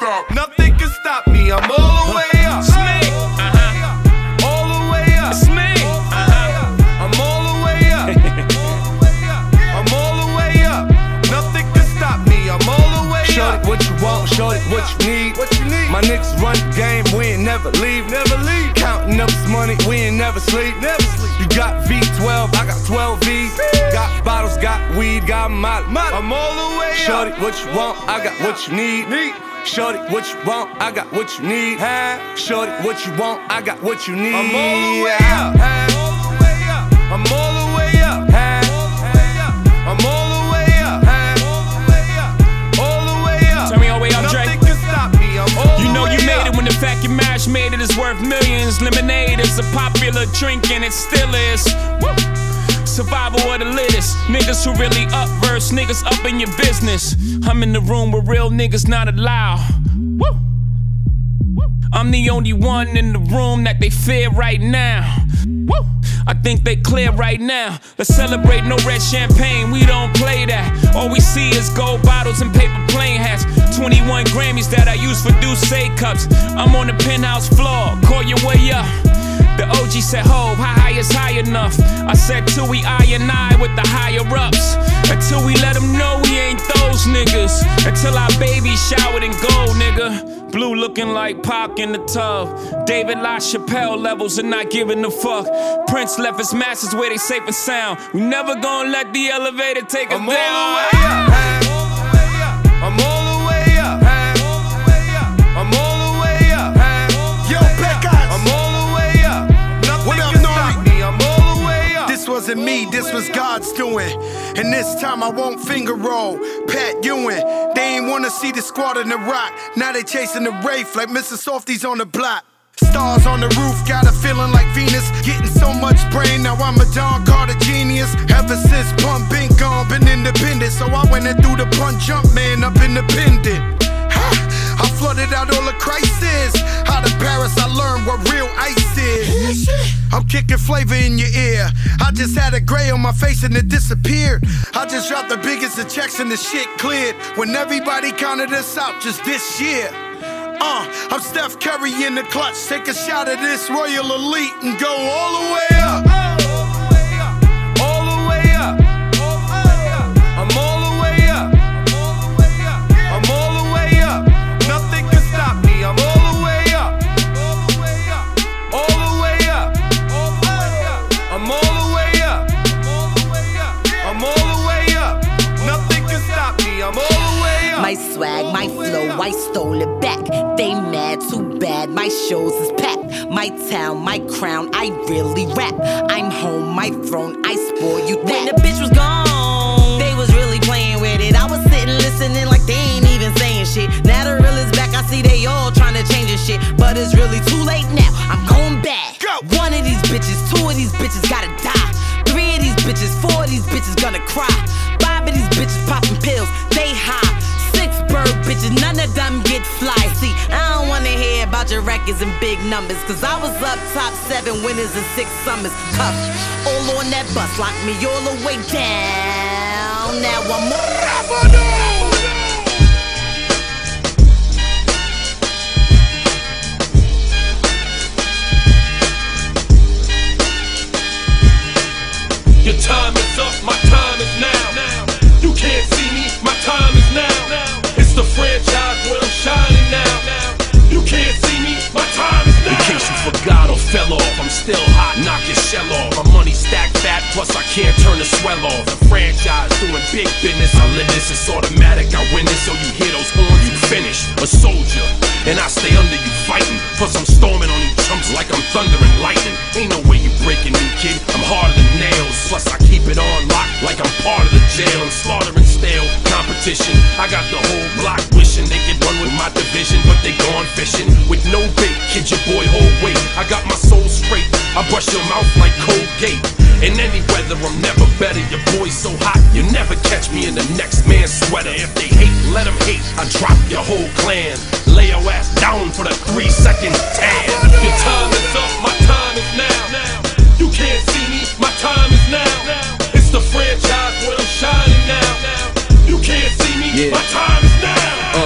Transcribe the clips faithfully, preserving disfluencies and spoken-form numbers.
stop. Nothing can stop me. I'm all the way up. It's me. Uh-huh. All the way up. It's me. Uh-huh. I'm all the way up. I'm all the way up. Nothing can stop me. I'm all the way up. Shorty, what you want? Shorty, what you need? What you need? My niggas run the game. We ain't never leave. Never leave. Counting up this money. We ain't never sleep. Never sleep. You got V twelve. I got twelve V's. Got bottles. Got weed. Got molly. I'm all the way up. Shorty, what you want? I got what you need. need. Shorty, what you want? I got what you need. Huh? Shorty, what you want? I got what you need. I'm all the way up. Huh? I'm all the way up. Huh? I'm all the way up. Huh? All the way up. Turn me all the way up, Dre. Nothing can stop me. I'm all You know the way you made up. it when the fact your marriage made it is worth millions. Lemonade is a popular drink and it still is. Woo. Survival of the littest. Niggas who really up verse, niggas up in your business. I'm in the room where real niggas not allowed. Woo. I'm the only one in the room that they fear right now. Woo. I think they clear right now. Let's celebrate, no red champagne, we don't play that. All we see is gold bottles and paper plane hats. twenty-one Grammys that I use for Douce cups. I'm on the penthouse floor, call your way up. The O G said, ho, how high is high enough? I said, till we I and I with the higher ups. Until we let them know we ain't those niggas. Until our baby showered in gold, nigga. Blue looking like Pac in the tub. David LaChapelle levels and not giving a fuck. Prince left his masters where they safe and sound. We never gonna let the elevator take us I'm down. all the way up. Huh? I'm all the way up. Huh? I'm all the way up. Huh? Yo, Pecos. I'm all the way up. Nothing What up, can Nori? stop me. I'm all the way up. This wasn't me, this was God's doing. And this time I won't finger roll. Pat Ewing, they ain't wanna see the squad in the rock. Now they chasing the Wraith like Mister Softies on the block. Stars on the roof, got a feeling like Venus. Getting so much brain, now I'm a Don Carter genius. Ever since Pump been gone, been independent. So I went and threw the punch jump man up independent. I flooded out all the crisis. Out of Paris, I learned what real ice is. I'm kicking flavor in your ear. I just had a gray on my face and it disappeared. I just dropped the biggest of checks and the shit cleared. When everybody counted us out just this year. Uh, I'm Steph Curry in the clutch. Take a shot of this Royal Elite and go all the way up. All the way up. I'm all the way up. I'm all the way up. Nothing can stop me. I'm all the way up. All the way up. I'm all the way up. I'm all the way up. Nothing can stop me. I'm all the way up. My swag, my flow, I stole it back. They mad, too bad, my shows is packed. My town, my crown, I really rap. I'm home, my throne, I spoil you that. When the bitch was gone, they was really playing with it. I was sitting listening like they ain't even saying shit. Now the real is back, I see they all trying to change this shit. But it's really too late now, I'm going back. Go. One of these bitches, two of these bitches gotta die. Three of these bitches, four of these bitches gonna cry. Five of these bitches popping pills, they high. Bird bitches, none of them get fly. See, I don't wanna hear about your records and big numbers. Cause I was up top seven winners and six summers. Cuff, all on that bus, lock me all the way down. Now I'm more. Your time is up, my time is now. You can't see me, my time is now. It's the franchise where I'm shining now. You can't see me, my time is now. In case you forgot or fell off, I'm still hot, knock your shell off. My money stacked fat, plus I can't turn the swell off. The franchise doing big business, I live this, it's automatic, I win this. So you hear those horns, you finish. A soldier, and I stay under you fighting. Plus I'm storming on you chumps like I'm thunder and lightning. Ain't no way you breaking me, kid, I'm harder than nails. Plus I keep it on lock like I'm part of the jail. I'm slaughtering stale competition. I got the whole block wishing they could run with my division, but they gone fishing with no bait. Kid, your boy hold weight. I got my soul straight. I brush your mouth like Colgate. In any weather, I'm never better. Your boy's so hot, you never catch me in the next man's sweater. If they hate, let them hate. I drop your whole clan. Lay your ass down for the three second tan. Your time is up, my time is now. You can't see me, my time is now. It's the franchise where I'm shining now. You can't see me, yeah. my time is now. Uh,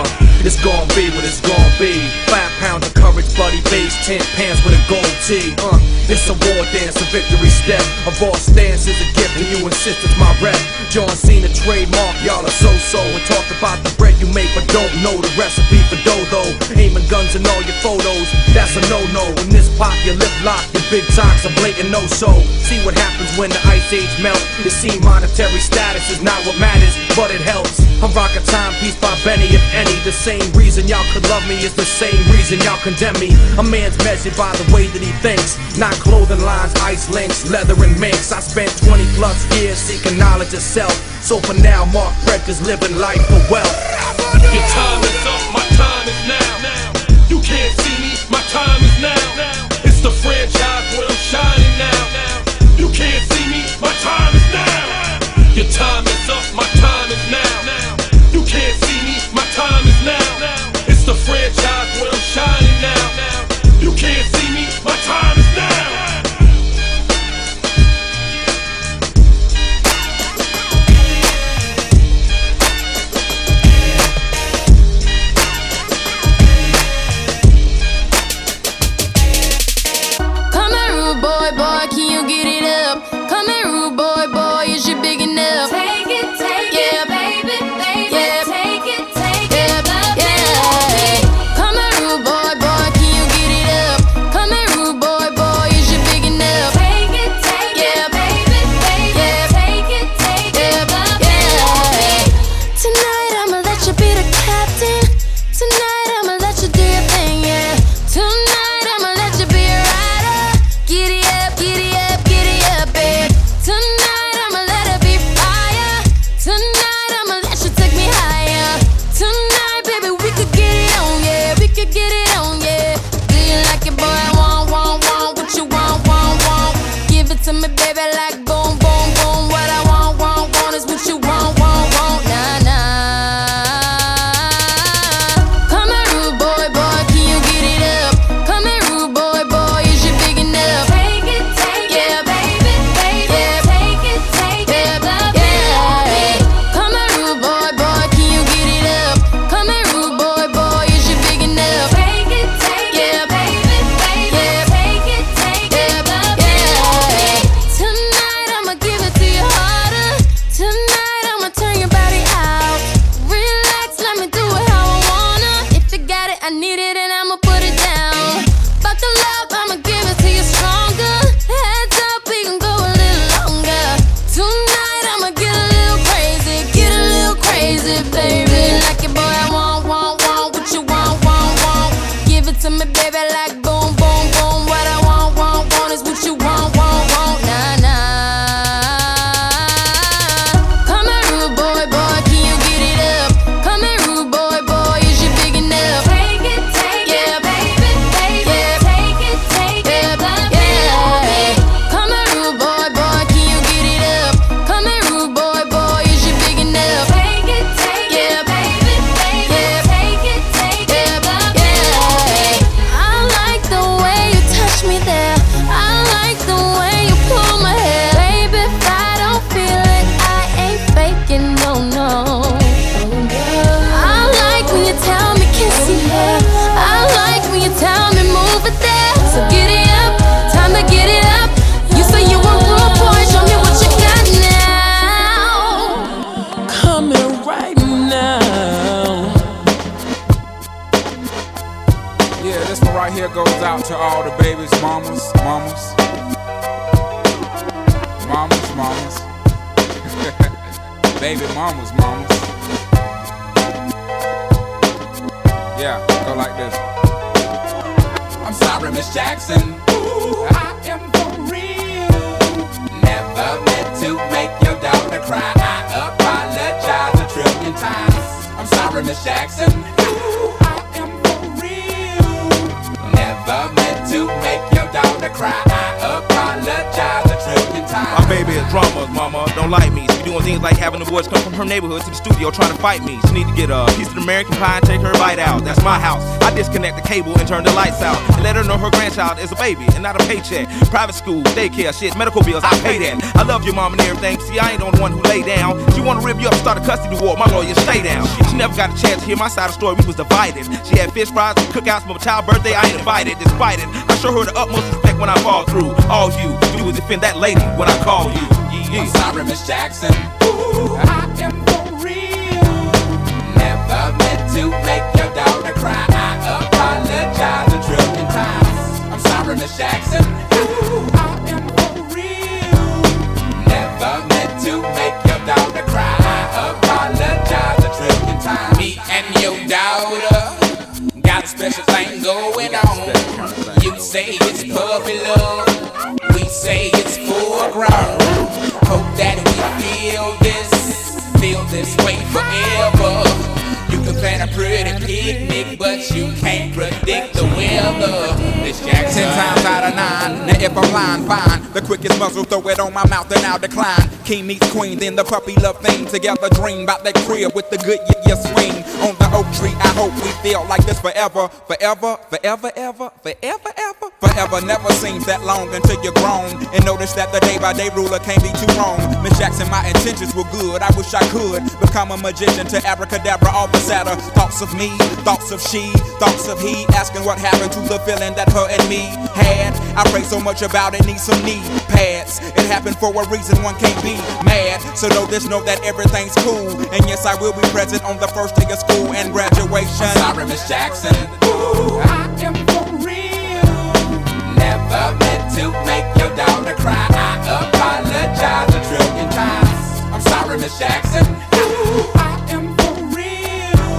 It's gon' be what it's gon' be. Five pounds of courage, buddy, base, ten pants with a gold tee. Uh, it's a war dance, a victory step. A raw stance is a gift, and you insist it's my rep. John Cena trademark, y'all are so-so. And talk about the bread you make, but don't know the recipe for dough. Aiming guns in all your photos, that's a no-no. When this pop, your lip lock, your big talks a blatant no-so. See what happens when the ice age melts. You see monetary status is not what matters, but it helps. I rock a timepiece by Benny, if any. The same reason y'all could love me is the same reason y'all condemn me. A man's measured by the way that he thinks, not clothing lines, ice links, leather and minks. I spent twenty plus years seeking knowledge of self. So for now, Mark Frederick's living life for wealth. Your time is up, my time is now. You can't see me, my time is now. It's the franchise where I'm shining now. You can't see me, my time is now. Your time is up, my time is now. You can't see me, my time is now. It's the franchise where I'm shining now. You can't see me, my time is now. To all the babies, mamas, mamas, mamas, mamas, baby mamas, mamas. Yeah, go like this. I'm sorry, Miss Jackson. Ooh, I am for real. Never meant to make your daughter cry. I apologize a trillion times. I'm sorry, Miss Jackson. Ooh, I am for real. Never meant to make your daughter cry. I apologize a trillion times. My baby is drama, mama, don't like me. She doing things like having the boys come from her neighborhood to the studio trying to fight me. She need to get a piece of American pie and take her bite out. That's my house. I disconnect the cable and turn the lights out. And let her know her grandchild is a baby and not a paycheck. Private school, daycare, shit, medical bills, I pay that. I love your mom and everything, see I ain't the one who lay down. She wanna rip you up, start a custody war, my lawyer stay down. She never got a chance to hear my side of the story, we was divided. She had fish fries, cookouts for my child's birthday, I ain't invited. Despite it, I show her the utmost respect when I fall through. All you do is defend that lady when I call you. Yeah, yeah. I'm sorry, Miss Jackson. Ooh, I am for real. Never meant to make your daughter cry. I apologize a trillion times. I'm sorry, Miss Jackson. Ooh, I am for real. Never meant to make your daughter cry. I apologize a trillion times. Me and your daughter got a special thing going on. You say it's puppy love, we say it's full grown. Hope that we feel this, feel this way forever. You can plan a pretty picnic, but you can't predict the weather. Miss Jackson. Ten times out of nine, now if I'm lying, fine. The quickest muzzle, throw it on my mouth and I'll decline. King meets queen, then the puppy love thing. Together dream about that crib with the good yeah, yeah swing. On the oak tree, I hope we feel like this forever. Forever, forever, ever, forever, ever. Forever never seems that long until you're grown. And notice that the day by day ruler can't be too wrong. Miss Jackson, my intentions were good. I wish I could become a magician to abracadabra all the sadder. Thoughts of me, thoughts of she, thoughts of he. Asking what happened to the feeling that her and me had. I pray so much about it, need some knee pads. It happened for a reason, one can't be mad. So know this, know that everything's cool. And yes, I will be present on the first day of school and graduation. I'm sorry, Miss Jackson. Ooh, I am for real. Never meant to make your daughter cry. I apologize a trillion times. I'm sorry, Miss Jackson. Ooh, I am for real.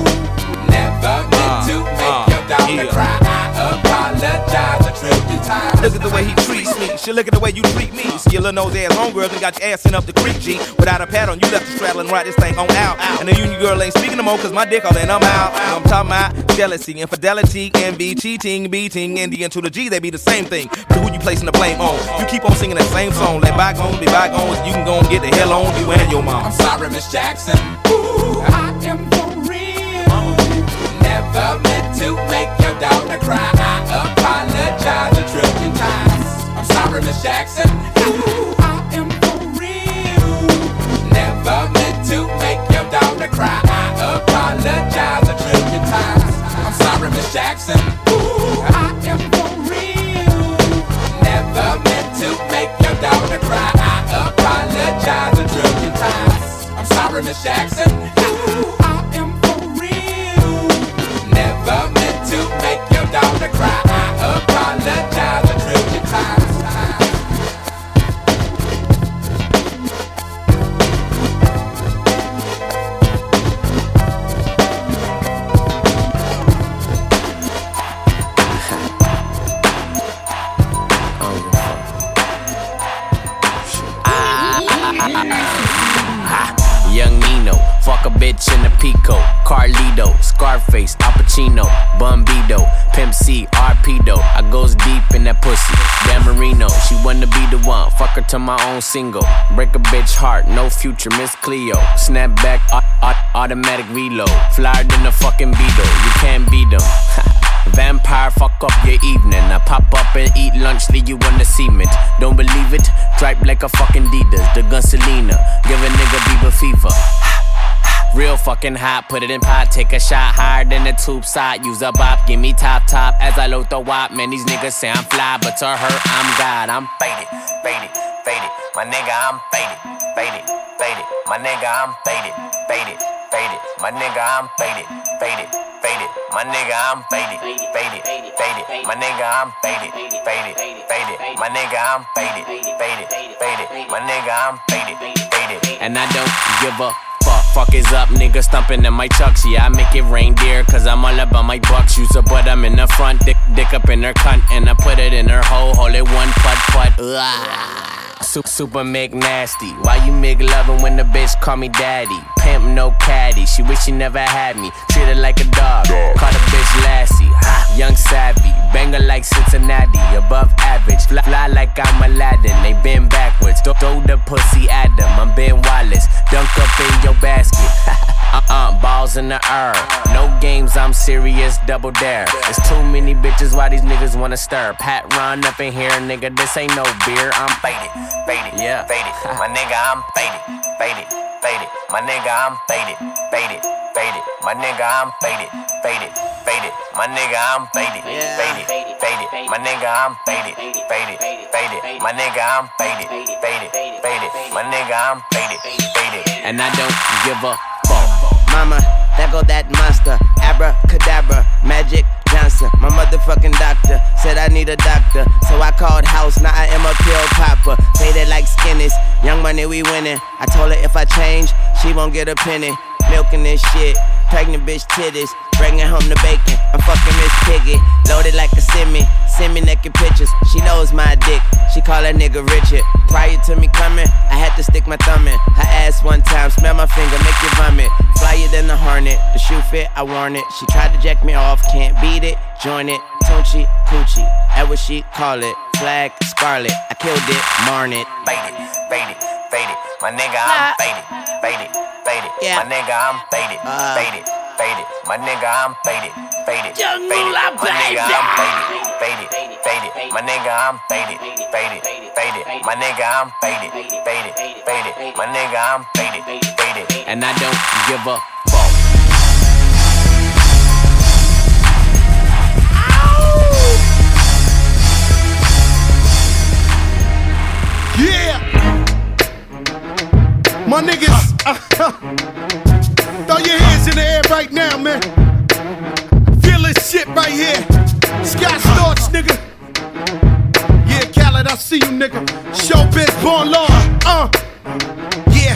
Never meant to make your daughter yeah. cry. I apologize a trillion times. Look at the way he treats me. Shit, look at the way you treat me. Skillin' nose ass homegirl and got your ass sent up the creek, G. Without a pad on, you left the straddle and ride this thing on out. And the union girl ain't speaking no more, cause my dick all in, I'm out. I'm talking about jealousy, infidelity, envy, cheating, beating, and the N to the G, they be the same thing. But who you placing the blame on? You keep on singing that same song. Let bygones be bygones, you can go and get the hell on you and your mom. I'm sorry, Miss Jackson. Ooh, I am for real. Never meant to make your daughter cry. I apologize a trillion times. I'm sorry, Miss Jackson. Ooh, I am for real. Never meant to make your daughter cry. I apologize a trillion times. I'm sorry, Miss Jackson. Ooh, I am for real. Never meant to make your daughter cry. I apologize a trillion times. I'm sorry, Miss Jackson. Ooh, I am for real. Never meant to make your daughter cry. I apologize a trillion times. Young Nino, fuck a bitch in a Pico, Carlito, Scarface, Al Pacino, Bumbido, Pimp C, Arpedo. I goes deep in that pussy. Dan Marino, she wanna be the one. Fuck her to my own single. Break a bitch heart, no future, Miss Cleo. Snap back, automatic reload. Flyer than a fucking Beetle. You can't beat them. Vampire, fuck up your evening. I pop up and eat lunch, leave you on the cement. Don't believe it? Dripe like a fucking Adidas. The gun Selena, give a nigga Bieber fever. Real fucking hot, put it in pot, take a shot higher than the tube side. Use a bop, give me top top as I load the wop. Man, these niggas say I'm fly, but to her, I'm God. I'm faded, faded, faded. My nigga, I'm faded, faded, faded. My nigga, I'm faded, faded, faded. My nigga, I'm faded, faded, faded. My nigga, I'm faded, faded, faded. My nigga, I'm faded, faded, faded. My nigga, I'm faded, faded, faded. My nigga, I'm faded, faded. And I don't give a fuck. Fuck is up, nigga stumping in my chucks. Yeah, I make it reindeer, cause I'm all about my bucks. Use a butt, I'm in the front, dick, dick up in her cunt. And I put it in her hole, hold it one putt, putt. Ugh. Super, super McNasty. Why you make loving when the bitch call me daddy? Pimp no caddy, she wish she never had me. Treat her like a dog, call the bitch Lassie. Ha, young savvy, banger like Cincinnati. Cincinnati, above average. Fly, fly like I'm Aladdin, they bend backwards. Throw, throw the pussy at them, I'm Ben Wallace. Dunk up in your basket. Uh-uh, balls in the air. No games, I'm serious, double dare. There's too many bitches, why these niggas wanna stir? Pat run up in here, nigga, this ain't no beer. I'm faded, faded, yeah, faded. My nigga, I'm faded, faded, faded. My nigga, I'm faded, faded, faded. My nigga, I'm faded, faded, faded. My nigga, I'm faded, faded, faded. My nigga, I'm faded, faded, faded. My nigga, I'm faded, faded, faded. My nigga, I'm faded, faded. And I don't give a Mama, there go that monster, abracadabra, Magic Johnson. My motherfucking doctor said I need a doctor, so I called house, now I am a pill popper. Faded like skinnies, young money we winning. I told her if I change, she won't get a penny. Milking this shit, pregnant bitch titties, bringing home the bacon. I'm fucking Miss Piggy, loaded like a semi. Send me naked pictures, she knows my dick. She call that nigga Richard. Prior to me coming, I had to stick my thumb in her ass one time, smell my finger, make you vomit. Flyer than the Hornet, the shoe fit, I worn it. She tried to jack me off, can't beat it, join it. Tunchi, Coochie, that's what she call it. Flag, scarlet, I killed it, marn it. Faded, faded, faded. My nigga, I'm faded, faded, faded. My nigga, I'm faded, faded, faded. My nigga, I'm faded, faded, faded. My nigga, I'm faded, faded, faded. My nigga, I'm faded, faded, faded. My nigga, I'm faded, faded, faded. My nigga, I'm faded, faded. And I don't give a fuck. Yeah! My niggas, uh, uh, throw your hands in the air right now, man. Feel this shit right here. Scott Storch, nigga. Yeah, Khaled, I see you, nigga. Showbiz, born law. Uh, yeah.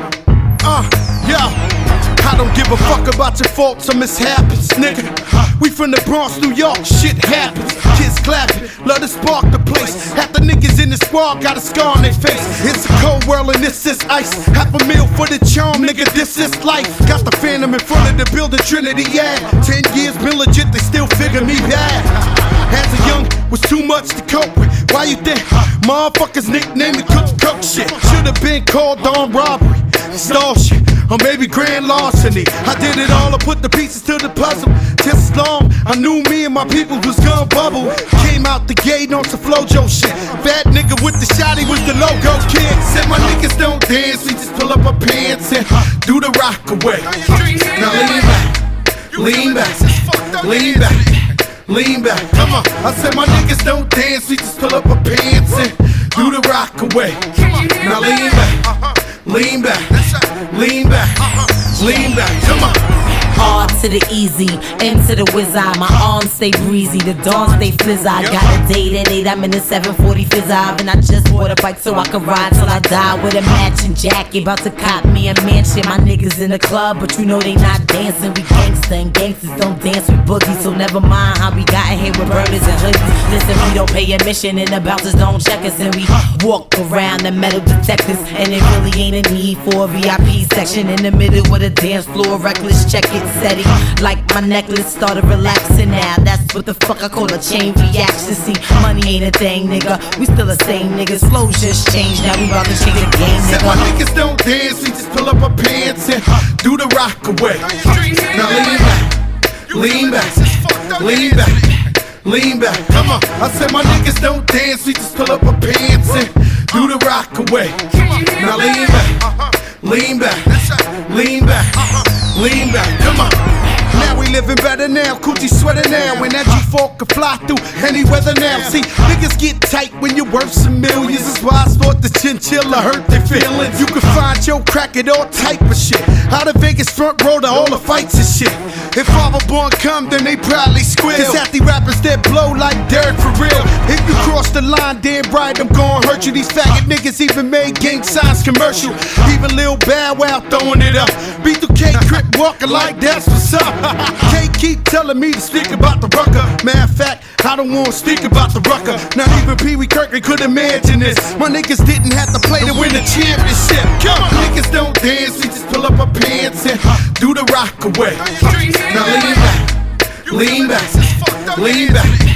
Uh, yo. I don't give a fuck about your faults or mishaps, nigga. We from the Bronx, New York, shit happens. Kids clapping, love to spark the place. Half the niggas in the squad got a scar on their face. It's a cold world and this is ice. Half a meal for the charm, nigga, this is life. Got the Phantom in front of the building, Trinity, yeah. Ten years been legit, they still figure me bad. As a young, was too much to cope with. Why you think motherfuckers nicknamed me Cook Cook shit? Should've been called on robbery, stall shit, or maybe grand larceny. I did it all, I put the pieces to the puzzle. Just as long, I knew me and my people was gonna bubble. Came out the gate on some Flojo shit. Bad nigga with the shotty was the logo kid. Said my niggas don't dance, we just pull up our pants and do the rock away. Now lean back, lean back, lean back, lean back. Come on, I said my niggas don't dance, we just pull up our pants and do the rock away. Now lean back, lean back, lean back, lean back. Come on. R to the easy, M to the whiz eye. My arms stay breezy, the dawn stay flizz. I got a date at eight, I'm in the seven forty fizz eye. And I just bought a bike so I can ride till I die with a matching jacket. About to cop me a mansion. My niggas in the club, but you know they not dancing. We gangsta and gangsters don't dance with boogies. So never mind how we got in here with burners and hoodies. Listen, we don't pay admission and the bouncers don't check us. And we walk around the metal detectors. And it really ain't a need for a V I P section. In the middle with a dance floor, reckless, check it. Steady, like my necklace started relaxing now. That's what the fuck I call a chain reaction. See, money ain't a thing, nigga. We still the same niggas. Flows just changed, now we about to change the game, nigga. Said my niggas don't dance, we just pull up our pants and do the rock away. Now lean back, lean back, lean back, lean back. Come on, I said my niggas don't dance, we just pull up our pants and do the rock away. Now lean back, lean back, lean back. Lean back, come on. Now we living better now, coochie sweater now. When that G four can fly through any weather now. See, niggas get tight when you're worth some millions. That's why I thought the chinchilla hurt their feelings. You can find your crack at all type of shit. Out of Vegas front row to all the fights and shit. If Father Born come, then they probably squeal. Cause half the rappers that blow like Derek for real. If you cross the line, damn right, I'm gon' hurt you. These faggot niggas even made gang signs commercial. Even Lil Bow Wow throwing it up. B two K Crip walking like that's what's up. Can't keep telling me to speak about the rucker. Matter of fact, I don't wanna speak about the rucker. Not even Pee Wee Kirkland could imagine this. My niggas didn't have to play to win the championship. Come on, niggas don't dance, we just pull up our pants and do the rock away. Now lean back, lean back, lean back,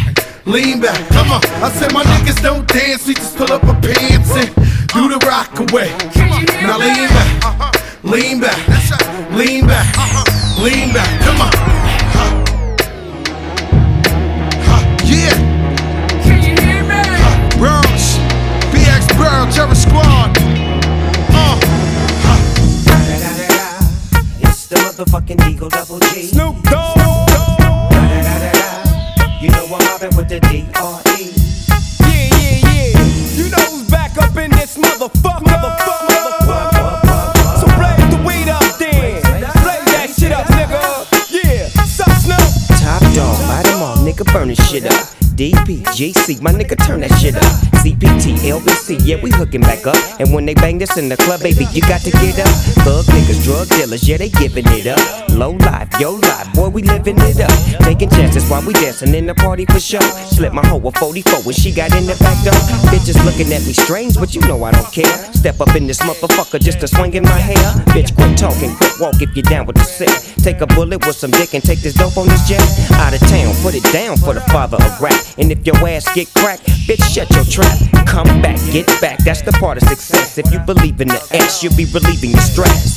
lean back. Come on, I said my niggas don't dance, we just pull up our pants and do the rock away. Now lean back, lean back, lean back, lean back. Come on. Yeah. Can you hear me? Bronx, B X Burl, Terror Squad. Uh. It's the motherfucking Eagle Double G. Snoop Dogg. You know I'm mobbing with the D R E. Yeah, yeah, yeah. You know who's back up in this motherfucker. Motherfucker, motherfucker. So blaze the weed up then. Blaze that shit up, nigga. Yeah, sup, Snoop? Top dog, buy them all, nigga, burn this shit up. D P, G C, my nigga, turn that shit up. C P T, L B C, yeah, we hooking back up. And when they bang this in the club, baby, you got to get up. Thug niggas, drug dealers, yeah, they giving it up. Low life, yo life, boy, we living it up. Taking chances while we dancing in the party for sure. Slip my hoe a forty-four when she got in the back door. Bitches looking at me strange, but you know I don't care. Step up in this motherfucker just to swing in my hair. Bitch, quit talking, quit walk if you're down with the sick. Take a bullet with some dick and take this dope on this jet. Out of town, put it down for the father of rap. And if your ass get cracked, bitch, shut your trap. Come back, get back, that's the part of success. If you believe in the ass, you'll be relieving your stress.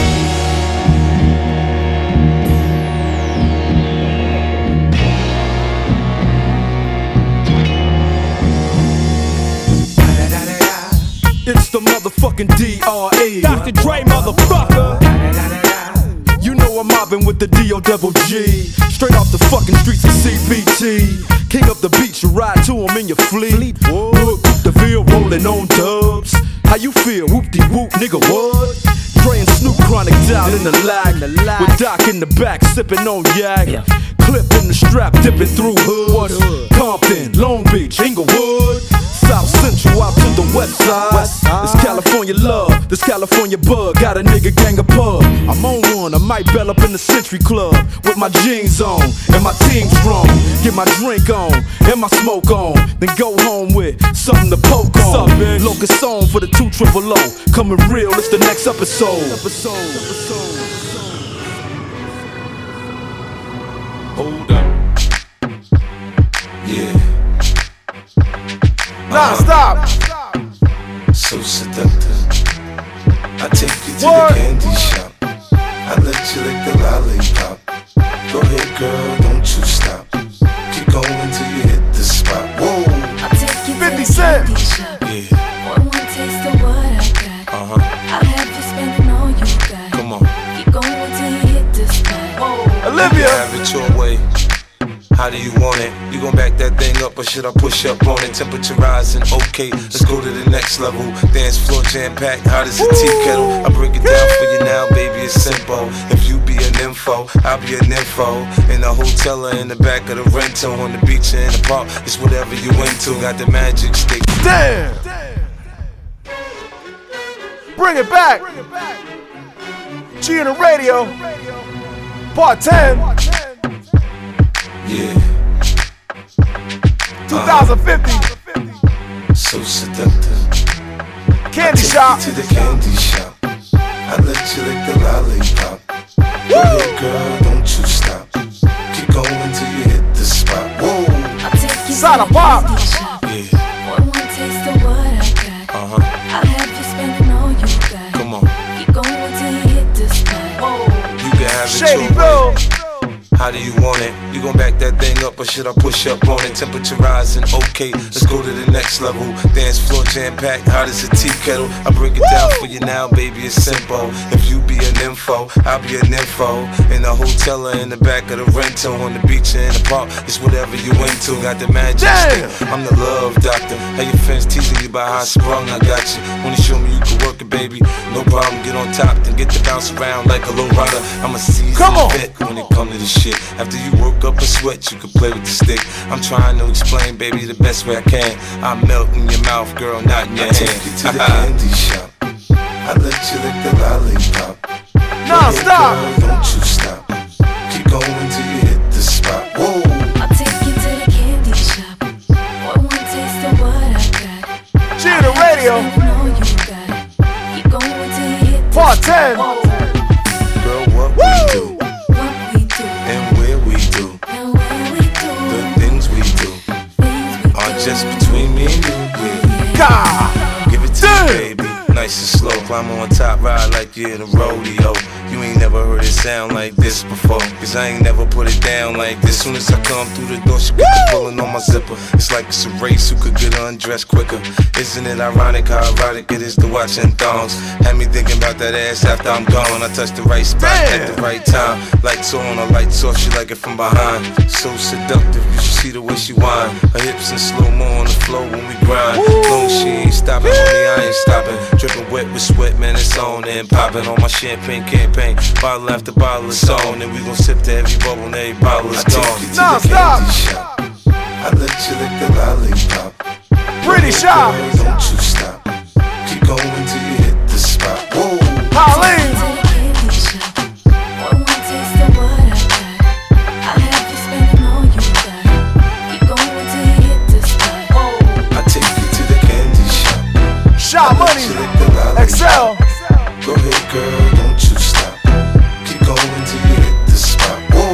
It's the motherfucking D R E. Doctor Dre, motherfucker. You know I'm mobbing with the D O double G. Straight off the fucking streets of C B T. King up the beach, you ride to him in your fleet. Look, the field rolling on dubs. How you feel? Whoop-de-whoop, nigga, what? Dre and Snoop chronic down in the lag. With Doc in the back, sipping on yak. Clip in the strap, dipping through hoods. Compton, Long Beach, Inglewood. South Central out to the west side. This California love, this California bug. Got a nigga gang of pub. I'm on one, I might bell up in the Century Club. With my jeans on, and my team strong. Get my drink on, and my smoke on. Then go home with something to poke on. Locust on for the two triple O. Coming real, it's the next episode. Episode, episode. Hold up. Yeah. Nah, stop. So seductive. I take you to What? the candy shop. I let you lick the lollipop. Go ahead, girl, don't you stop. Keep going till you hit the spot. Whoa. I'll take you fifty Cent. Yeah. One more taste of what I got. Uh huh. I'll have you spending all you got. Come on. Keep going till you hit the spot. Whoa. Olivia. Have it your way. How do you want it? You gon' back that thing up or should I push up on it? Temperature rising, okay, let's go to the next level. Dance floor jam packed, hot as a tea kettle. I break it down for you now, baby, it's simple. If you be an info, I'll be an info. In the hotel or in the back of the rental, on the beach or in the park, it's whatever you into. Got the magic stick. Damn! Bring it back! G in the radio, part ten. Yeah. twenty fifty. So seductive. Candy I take shop. you to the candy shop. I let you lick the lollipop. Go ahead, girl, don't you stop. Keep going till you hit the spot. Whoa. I'll take you Side to of the pop. candy shop. Yeah. One more taste of what I got. Uh huh. I'll have you spending all you got. Come on. Keep going till you hit the spot. Whoa. You can have it Shady your Bill. way. How do you want it? You gon' back that thing up or should I push up on it? Temperature rising, okay, let's go to the next level. Dance floor jam packed, hot as a tea kettle. I break it down for you now, baby, it's simple. If you be an info, I'll be an info. In the hotel or in the back of the rental, on the beach or in the park, it's whatever you into. Got the magic stick, I'm the love doctor. How your friends teasing you about how I sprung, I got you. Wanna show me you can work it, baby? No problem, get on top, then get to bounce around like a low rider. I'm a seasoned vet when it come to this shit. After you work up a sweat, you can play with the stick. I'm trying to explain, baby, the best way I can. I melt in your mouth, girl, not in your I hand. take you to the candy shop. I let you lick the lollipop. Nah, Go ahead, stop. girl, don't you stop. Keep going till you hit the spot. Whoa. I'll take you to the candy shop. One more taste of what I got. G in the radio, Spending all you got. Keep going till you hit the part spot. ten. Whoa. Girl, what we do What we do and where we do and where we do the things we do. things Give it to me, baby. Nice and slow, climb on top, ride like you're in a rodeo. You ain't never heard it sound like this before, cause I ain't never put it down like this. Soon as I come through the door, she get the pulling on my zipper. It's like it's a race who could get undressed quicker. Isn't it ironic how erotic it is to watch in thongs? Had me thinking about that ass after I'm gone. I touched the right spot at the right time. Lights on or lights off, she like it from behind. So seductive, you should see the way she whine. Her hips in slow-mo on the floor when we grind. Long as she ain't stopping, homie, I ain't stopping. Dripping wet with sweat, man, it's on and popping on my champagne campaign. Bottle after bottle is on, and we gon' sip to every bubble and every bottle is gone. I take you to no, the candy shop. I let you lick the lollipop. Pretty shop. Girl, don't you stop. Keep going till you hit the spot. Whoa, Pauline. Shot money, Excel. Go ahead, girl, don't you stop. Keep going till you hit the spot. Whoa.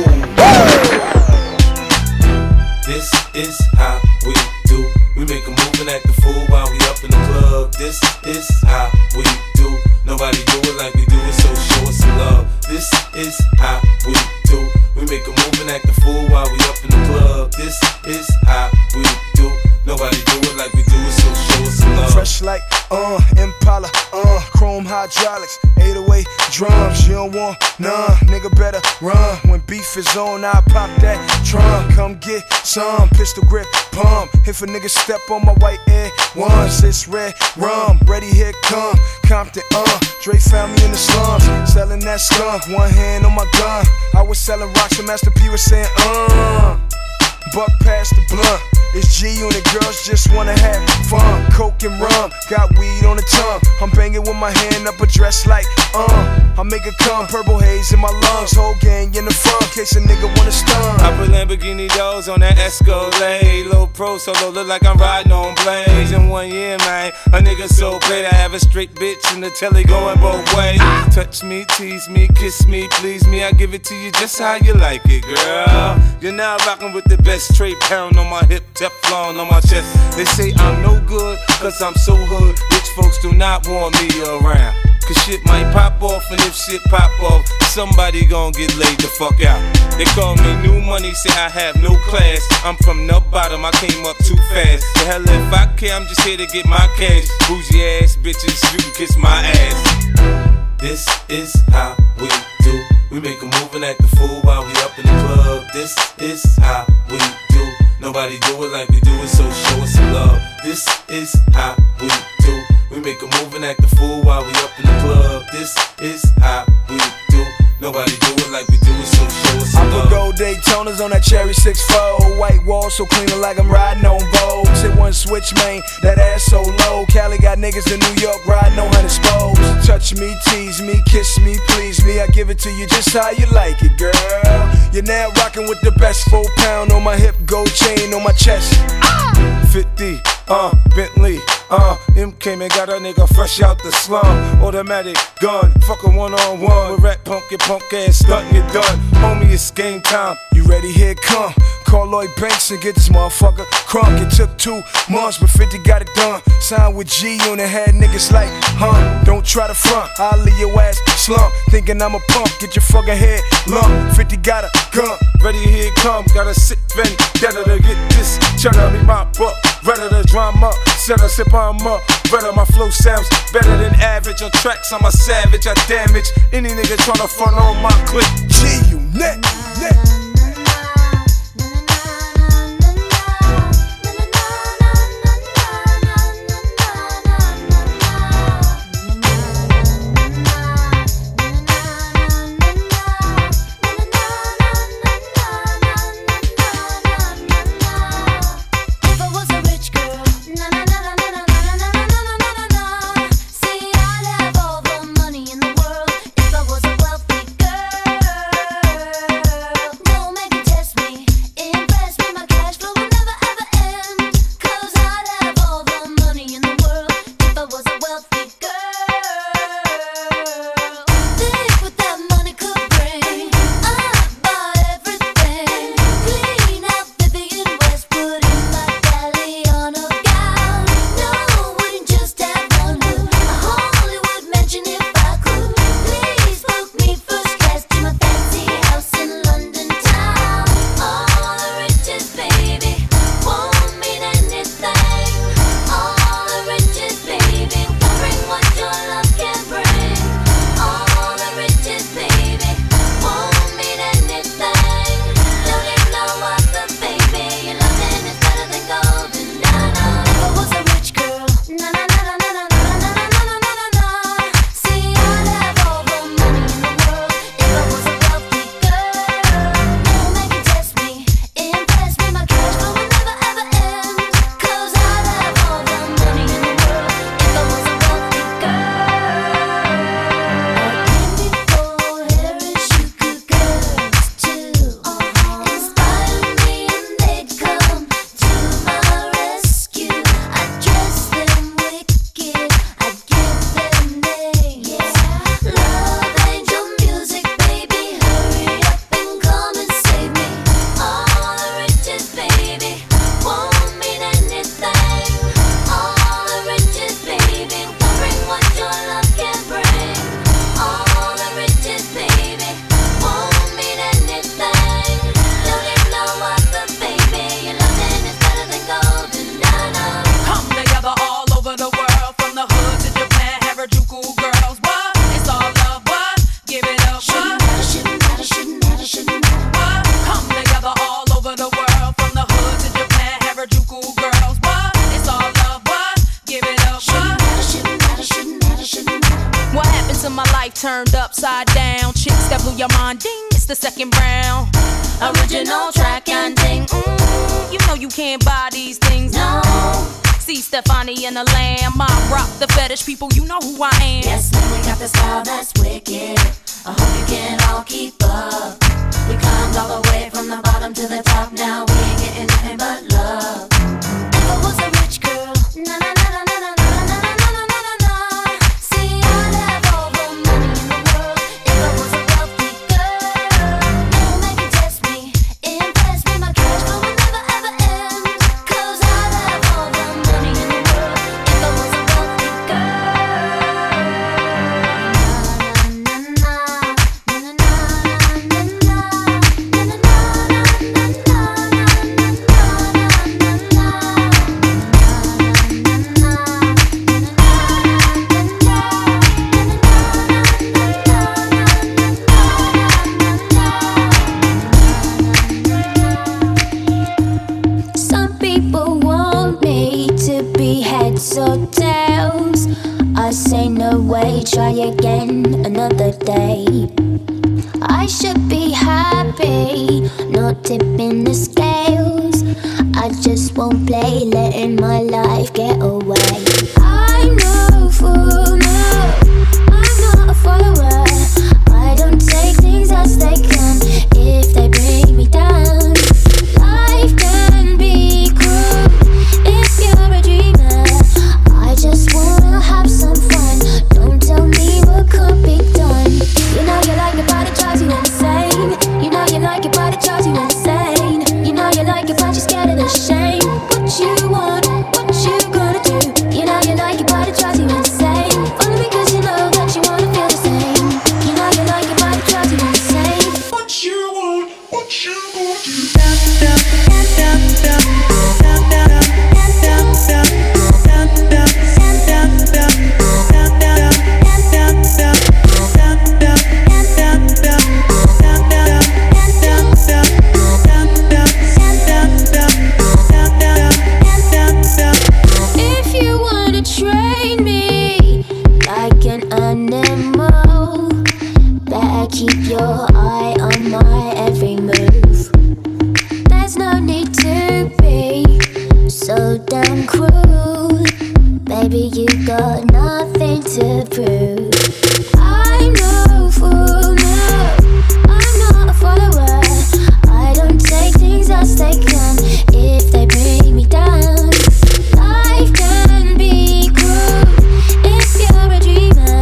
This is how we do. We make a move and act the fool while we up in the club. This is how we do. Nobody do it like we do it, so show us some love. This is how we do. We make a move and act the fool while we up in the club. This is how we do. Nobody do it like we do it, so show us some love. Fresh like uh Impala, uh chrome hydraulics, eight oh eight drums. You don't want none, nigga better run. When beef is on, I pop that trunk. Come get some pistol grip pump. If a nigga step on my white air once, it's red rum. Ready, here come Compton, uh Dre found me in the slums, selling that skunk. One hand on my gun. I was selling rocks and Master P was saying uh buck past the blunt. It's G-Unit, girls just wanna have fun. Coke and rum, got weed on the tongue. I'm banging with my hand up a dress like, uh I make it come, purple haze in my lungs. Whole gang in the front, case a nigga wanna stun. I put Lamborghini doors on that Escalade. Low pro solo, look like I'm riding on blades. In one year, man, a nigga so paid. I have a straight bitch in the telly going both ways. Touch me, tease me, kiss me, please me. I give it to you just how you like it, girl. You're now rocking with the best. Straight pound on my hip, Teflon on my chest. They say I'm no good, cause I'm so hood. Rich folks do not want me around, cause shit might pop off, and if shit pop off, somebody gon' get laid the fuck out. They call me new money, say I have no class. I'm from the bottom, I came up too fast. The hell if I care, I'm just here to get my cash. Bougie ass bitches, you can kiss my ass. This is how we do. We make a move and act the fool while we up in the club. This is how we do. Nobody do it like we do it, so show us some love. This is how we do. We make a move and act the fool while we up in the club. This is how we do. Nobody do it like we do it, so show us some love. I put gold Daytonas on that cherry six four. White wall so clean like I'm riding on Vogue. Hit one switch, man, that ass so low. Cali got niggas in New York riding on hundred spokes. Touch me, tease me, kiss me, please me. I give it to you just how you like it, girl. You're now rocking with the best. Four pound on my hip, gold chain on my chest. fifty, uh, Bentley, uh, M came and got a nigga fresh out the slum. Automatic gun, fuck a one on one. With rat punk, your punk ass stuntin', you done. Homie, it's game time. You ready? Here it come. Call Lloyd Banks and get this motherfucker crunk. It took two months, but fifty got it done. Signed with G-Unit, had niggas like, huh? Don't try to front, I'll leave your ass slump. Thinking I'm a punk, get your fucking head lump. fifty got a gun, ready, here it come. Got a sick vendetta to get this cheddar. Me my buck, redder the drama. Set a sip on up, redder my flow sounds better than average. On tracks, I'm a savage, I damage any nigga tryna front on my clip. G-Unit, net. No turned upside down. Chicks that blew your mind, ding, it's the second round. Original track and ding, mm, you know you can't buy these things, no. See Stefani and the Lamb, I rock the fetish people, you know who I am. Yes, man, we got the style that's wicked. I hope you can all keep up. We climbed all the way from the bottom to the top. Now we ain't getting nothing but love. If I was a rich girl, na na na na na na na na na na na na. See, I'd have all the money in the world. If I was a wealthy girl, never make you test me, impress me. My cash flow will never ever end. 'Cause I'd have all the money in the world. If I was a wealthy girl. Some people want me to be heads or tails. I say no way, try again another day. I should be happy, not tipping the scales. I just won't play, letting my life get away. I'm no fool, no, I'm not a follower. I don't take things as they come if they bring me down. Life can be cruel if you're a dreamer. I just wanna have some fun. Don't tell me what could be done. You know you like it, but it drives you insane. You know you like it, but it drives you insane. You know you like it, but you're scared of the shame. What you want, what you gonna do? You know you like it, but it drives you insane. Only because you know that you wanna feel the same. You know you like it, but it drives you insane. What you want, what you gonna do? If you wanna train me like an animal, better keep your eye on my every move. There's no need to be so damn cruel. Baby, you got nothing to prove. I'm no fool, no, I'm not a follower. I don't take things as they come if they bring me down. Life can be cruel if you're a dreamer.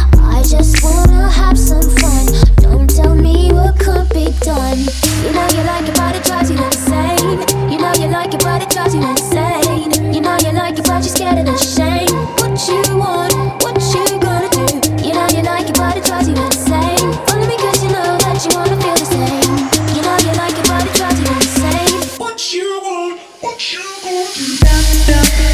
I just wanna have some fun. Don't tell me what could be done. You know you like it, but it drives you insane. You know you like it, but it drives you insane. You know you like it, but you're scared of the shame. What you want, what you gonna do? You know you like it, but it drives you insane. Only because you know that you wanna feel the same. You know you like it, but it drives you insane. What you want, what you gonna do?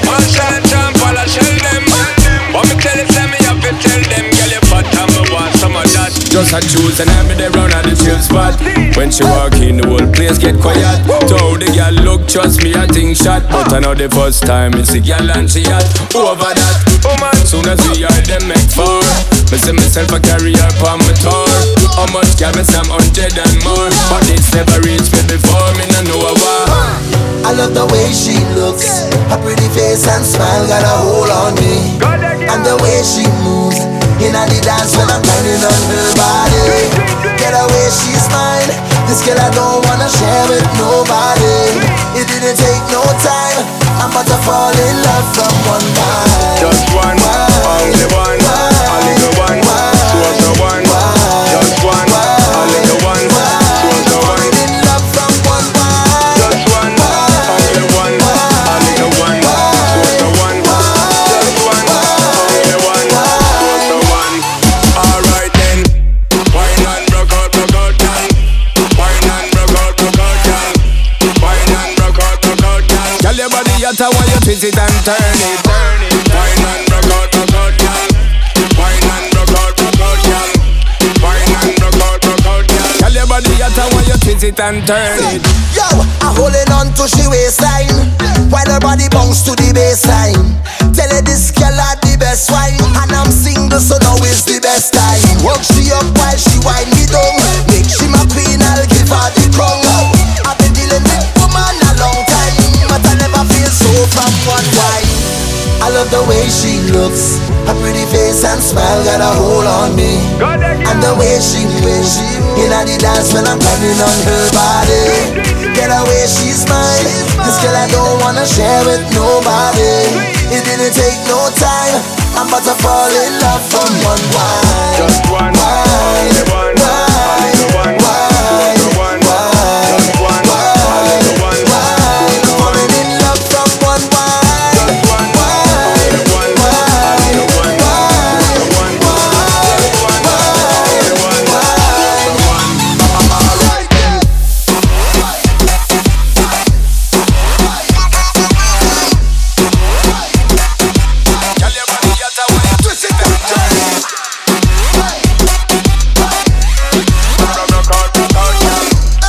Tell them, but me tell it, let me have to tell them, girl, you fat and me want some of that. just a choose and I'm there round at the chill spot. When she walk in, the whole place get quiet. So the girl look, trust me, I think shot. But I know the first time it's the girl and she hot. Over that, oh man, soon as we are them make four. Me see myself a carry her on my tour. How much can me some hundred and more? But it's never reached me before, me no know a war. I love the way she looks. Her pretty face and smile got a hold on me. And the way she moves in the dance when I'm grinding on her body. Get away, she's mine. This girl I don't wanna share with nobody. It didn't take no time. I'm about to fall in love from one time. Just one, only one, only the one. She was the one. Just one, only the one. She was the one. In love from one time. Just one, only one, only the one. She was the one. Just one, only one. She was the one. Alright then, wine and rock out, rock out, girl. Wine and rock out, rock out, girl. Wine and rock out, rock out, girl. Girl, your body hotter while you twist it and turn it, turn it. Wine and rock out, rock out, girl. Wine and rock out, rock out, girl. Wine and rock out, rock out, girl. Girl, your body hotter while you twist it and turn it. Yo, I'm holding on to she waistline while her body bounce to the baseline. Tell her this girl had the best wine, and I'm single, so now is the best time. Work she up while she wind me down. Make she my queen, I'll give her the crown. I've been dealing with woman a long time, but I never feel so from one time. I love the way she looks. Her pretty face and smile got a hold on me. And the way she moves in the dance when I'm grinding on her body. Get away, she's mine. This girl I don't wanna share with nobody. It didn't take no time. I'm about to fall in love from one wine. Just one, only one, only the one. Just the one, just one, only the one. Falling in love from one wine. Just one, only the one, only the one. Just the one, just one, only the one. Just the one. Alright then. Girl, your body hotter when you twist it and turn it. Rock out, rock out, girl.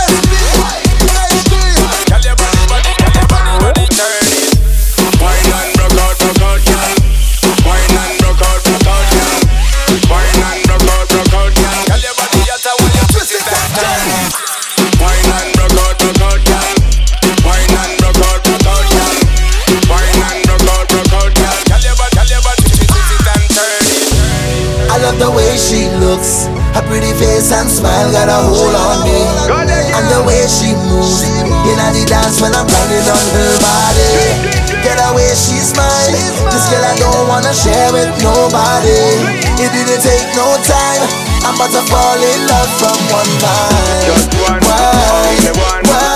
Girl, your body, body, girl, your body, body, turn it. Wine and rock out, rock out, girl. Wine and rock out, rock out, girl. Wine and rock out, rock out, girl. Girl, your body hotter when you twist it and turn it. Wine and rock out, rock out, girl. Wine and rock out, rock out, girl. Wine and rock out, rock out, girl. Girl, your body, girl, your body, twist it and turn it. I love the way she looks. Her pretty face and smile got a hold on me. And the way she moves in the dance when I'm grinding on her body. Get away, she's mine. This girl I don't wanna share with nobody. It didn't take no time. I'm about to fall in love from one time. Just one, Why? only one.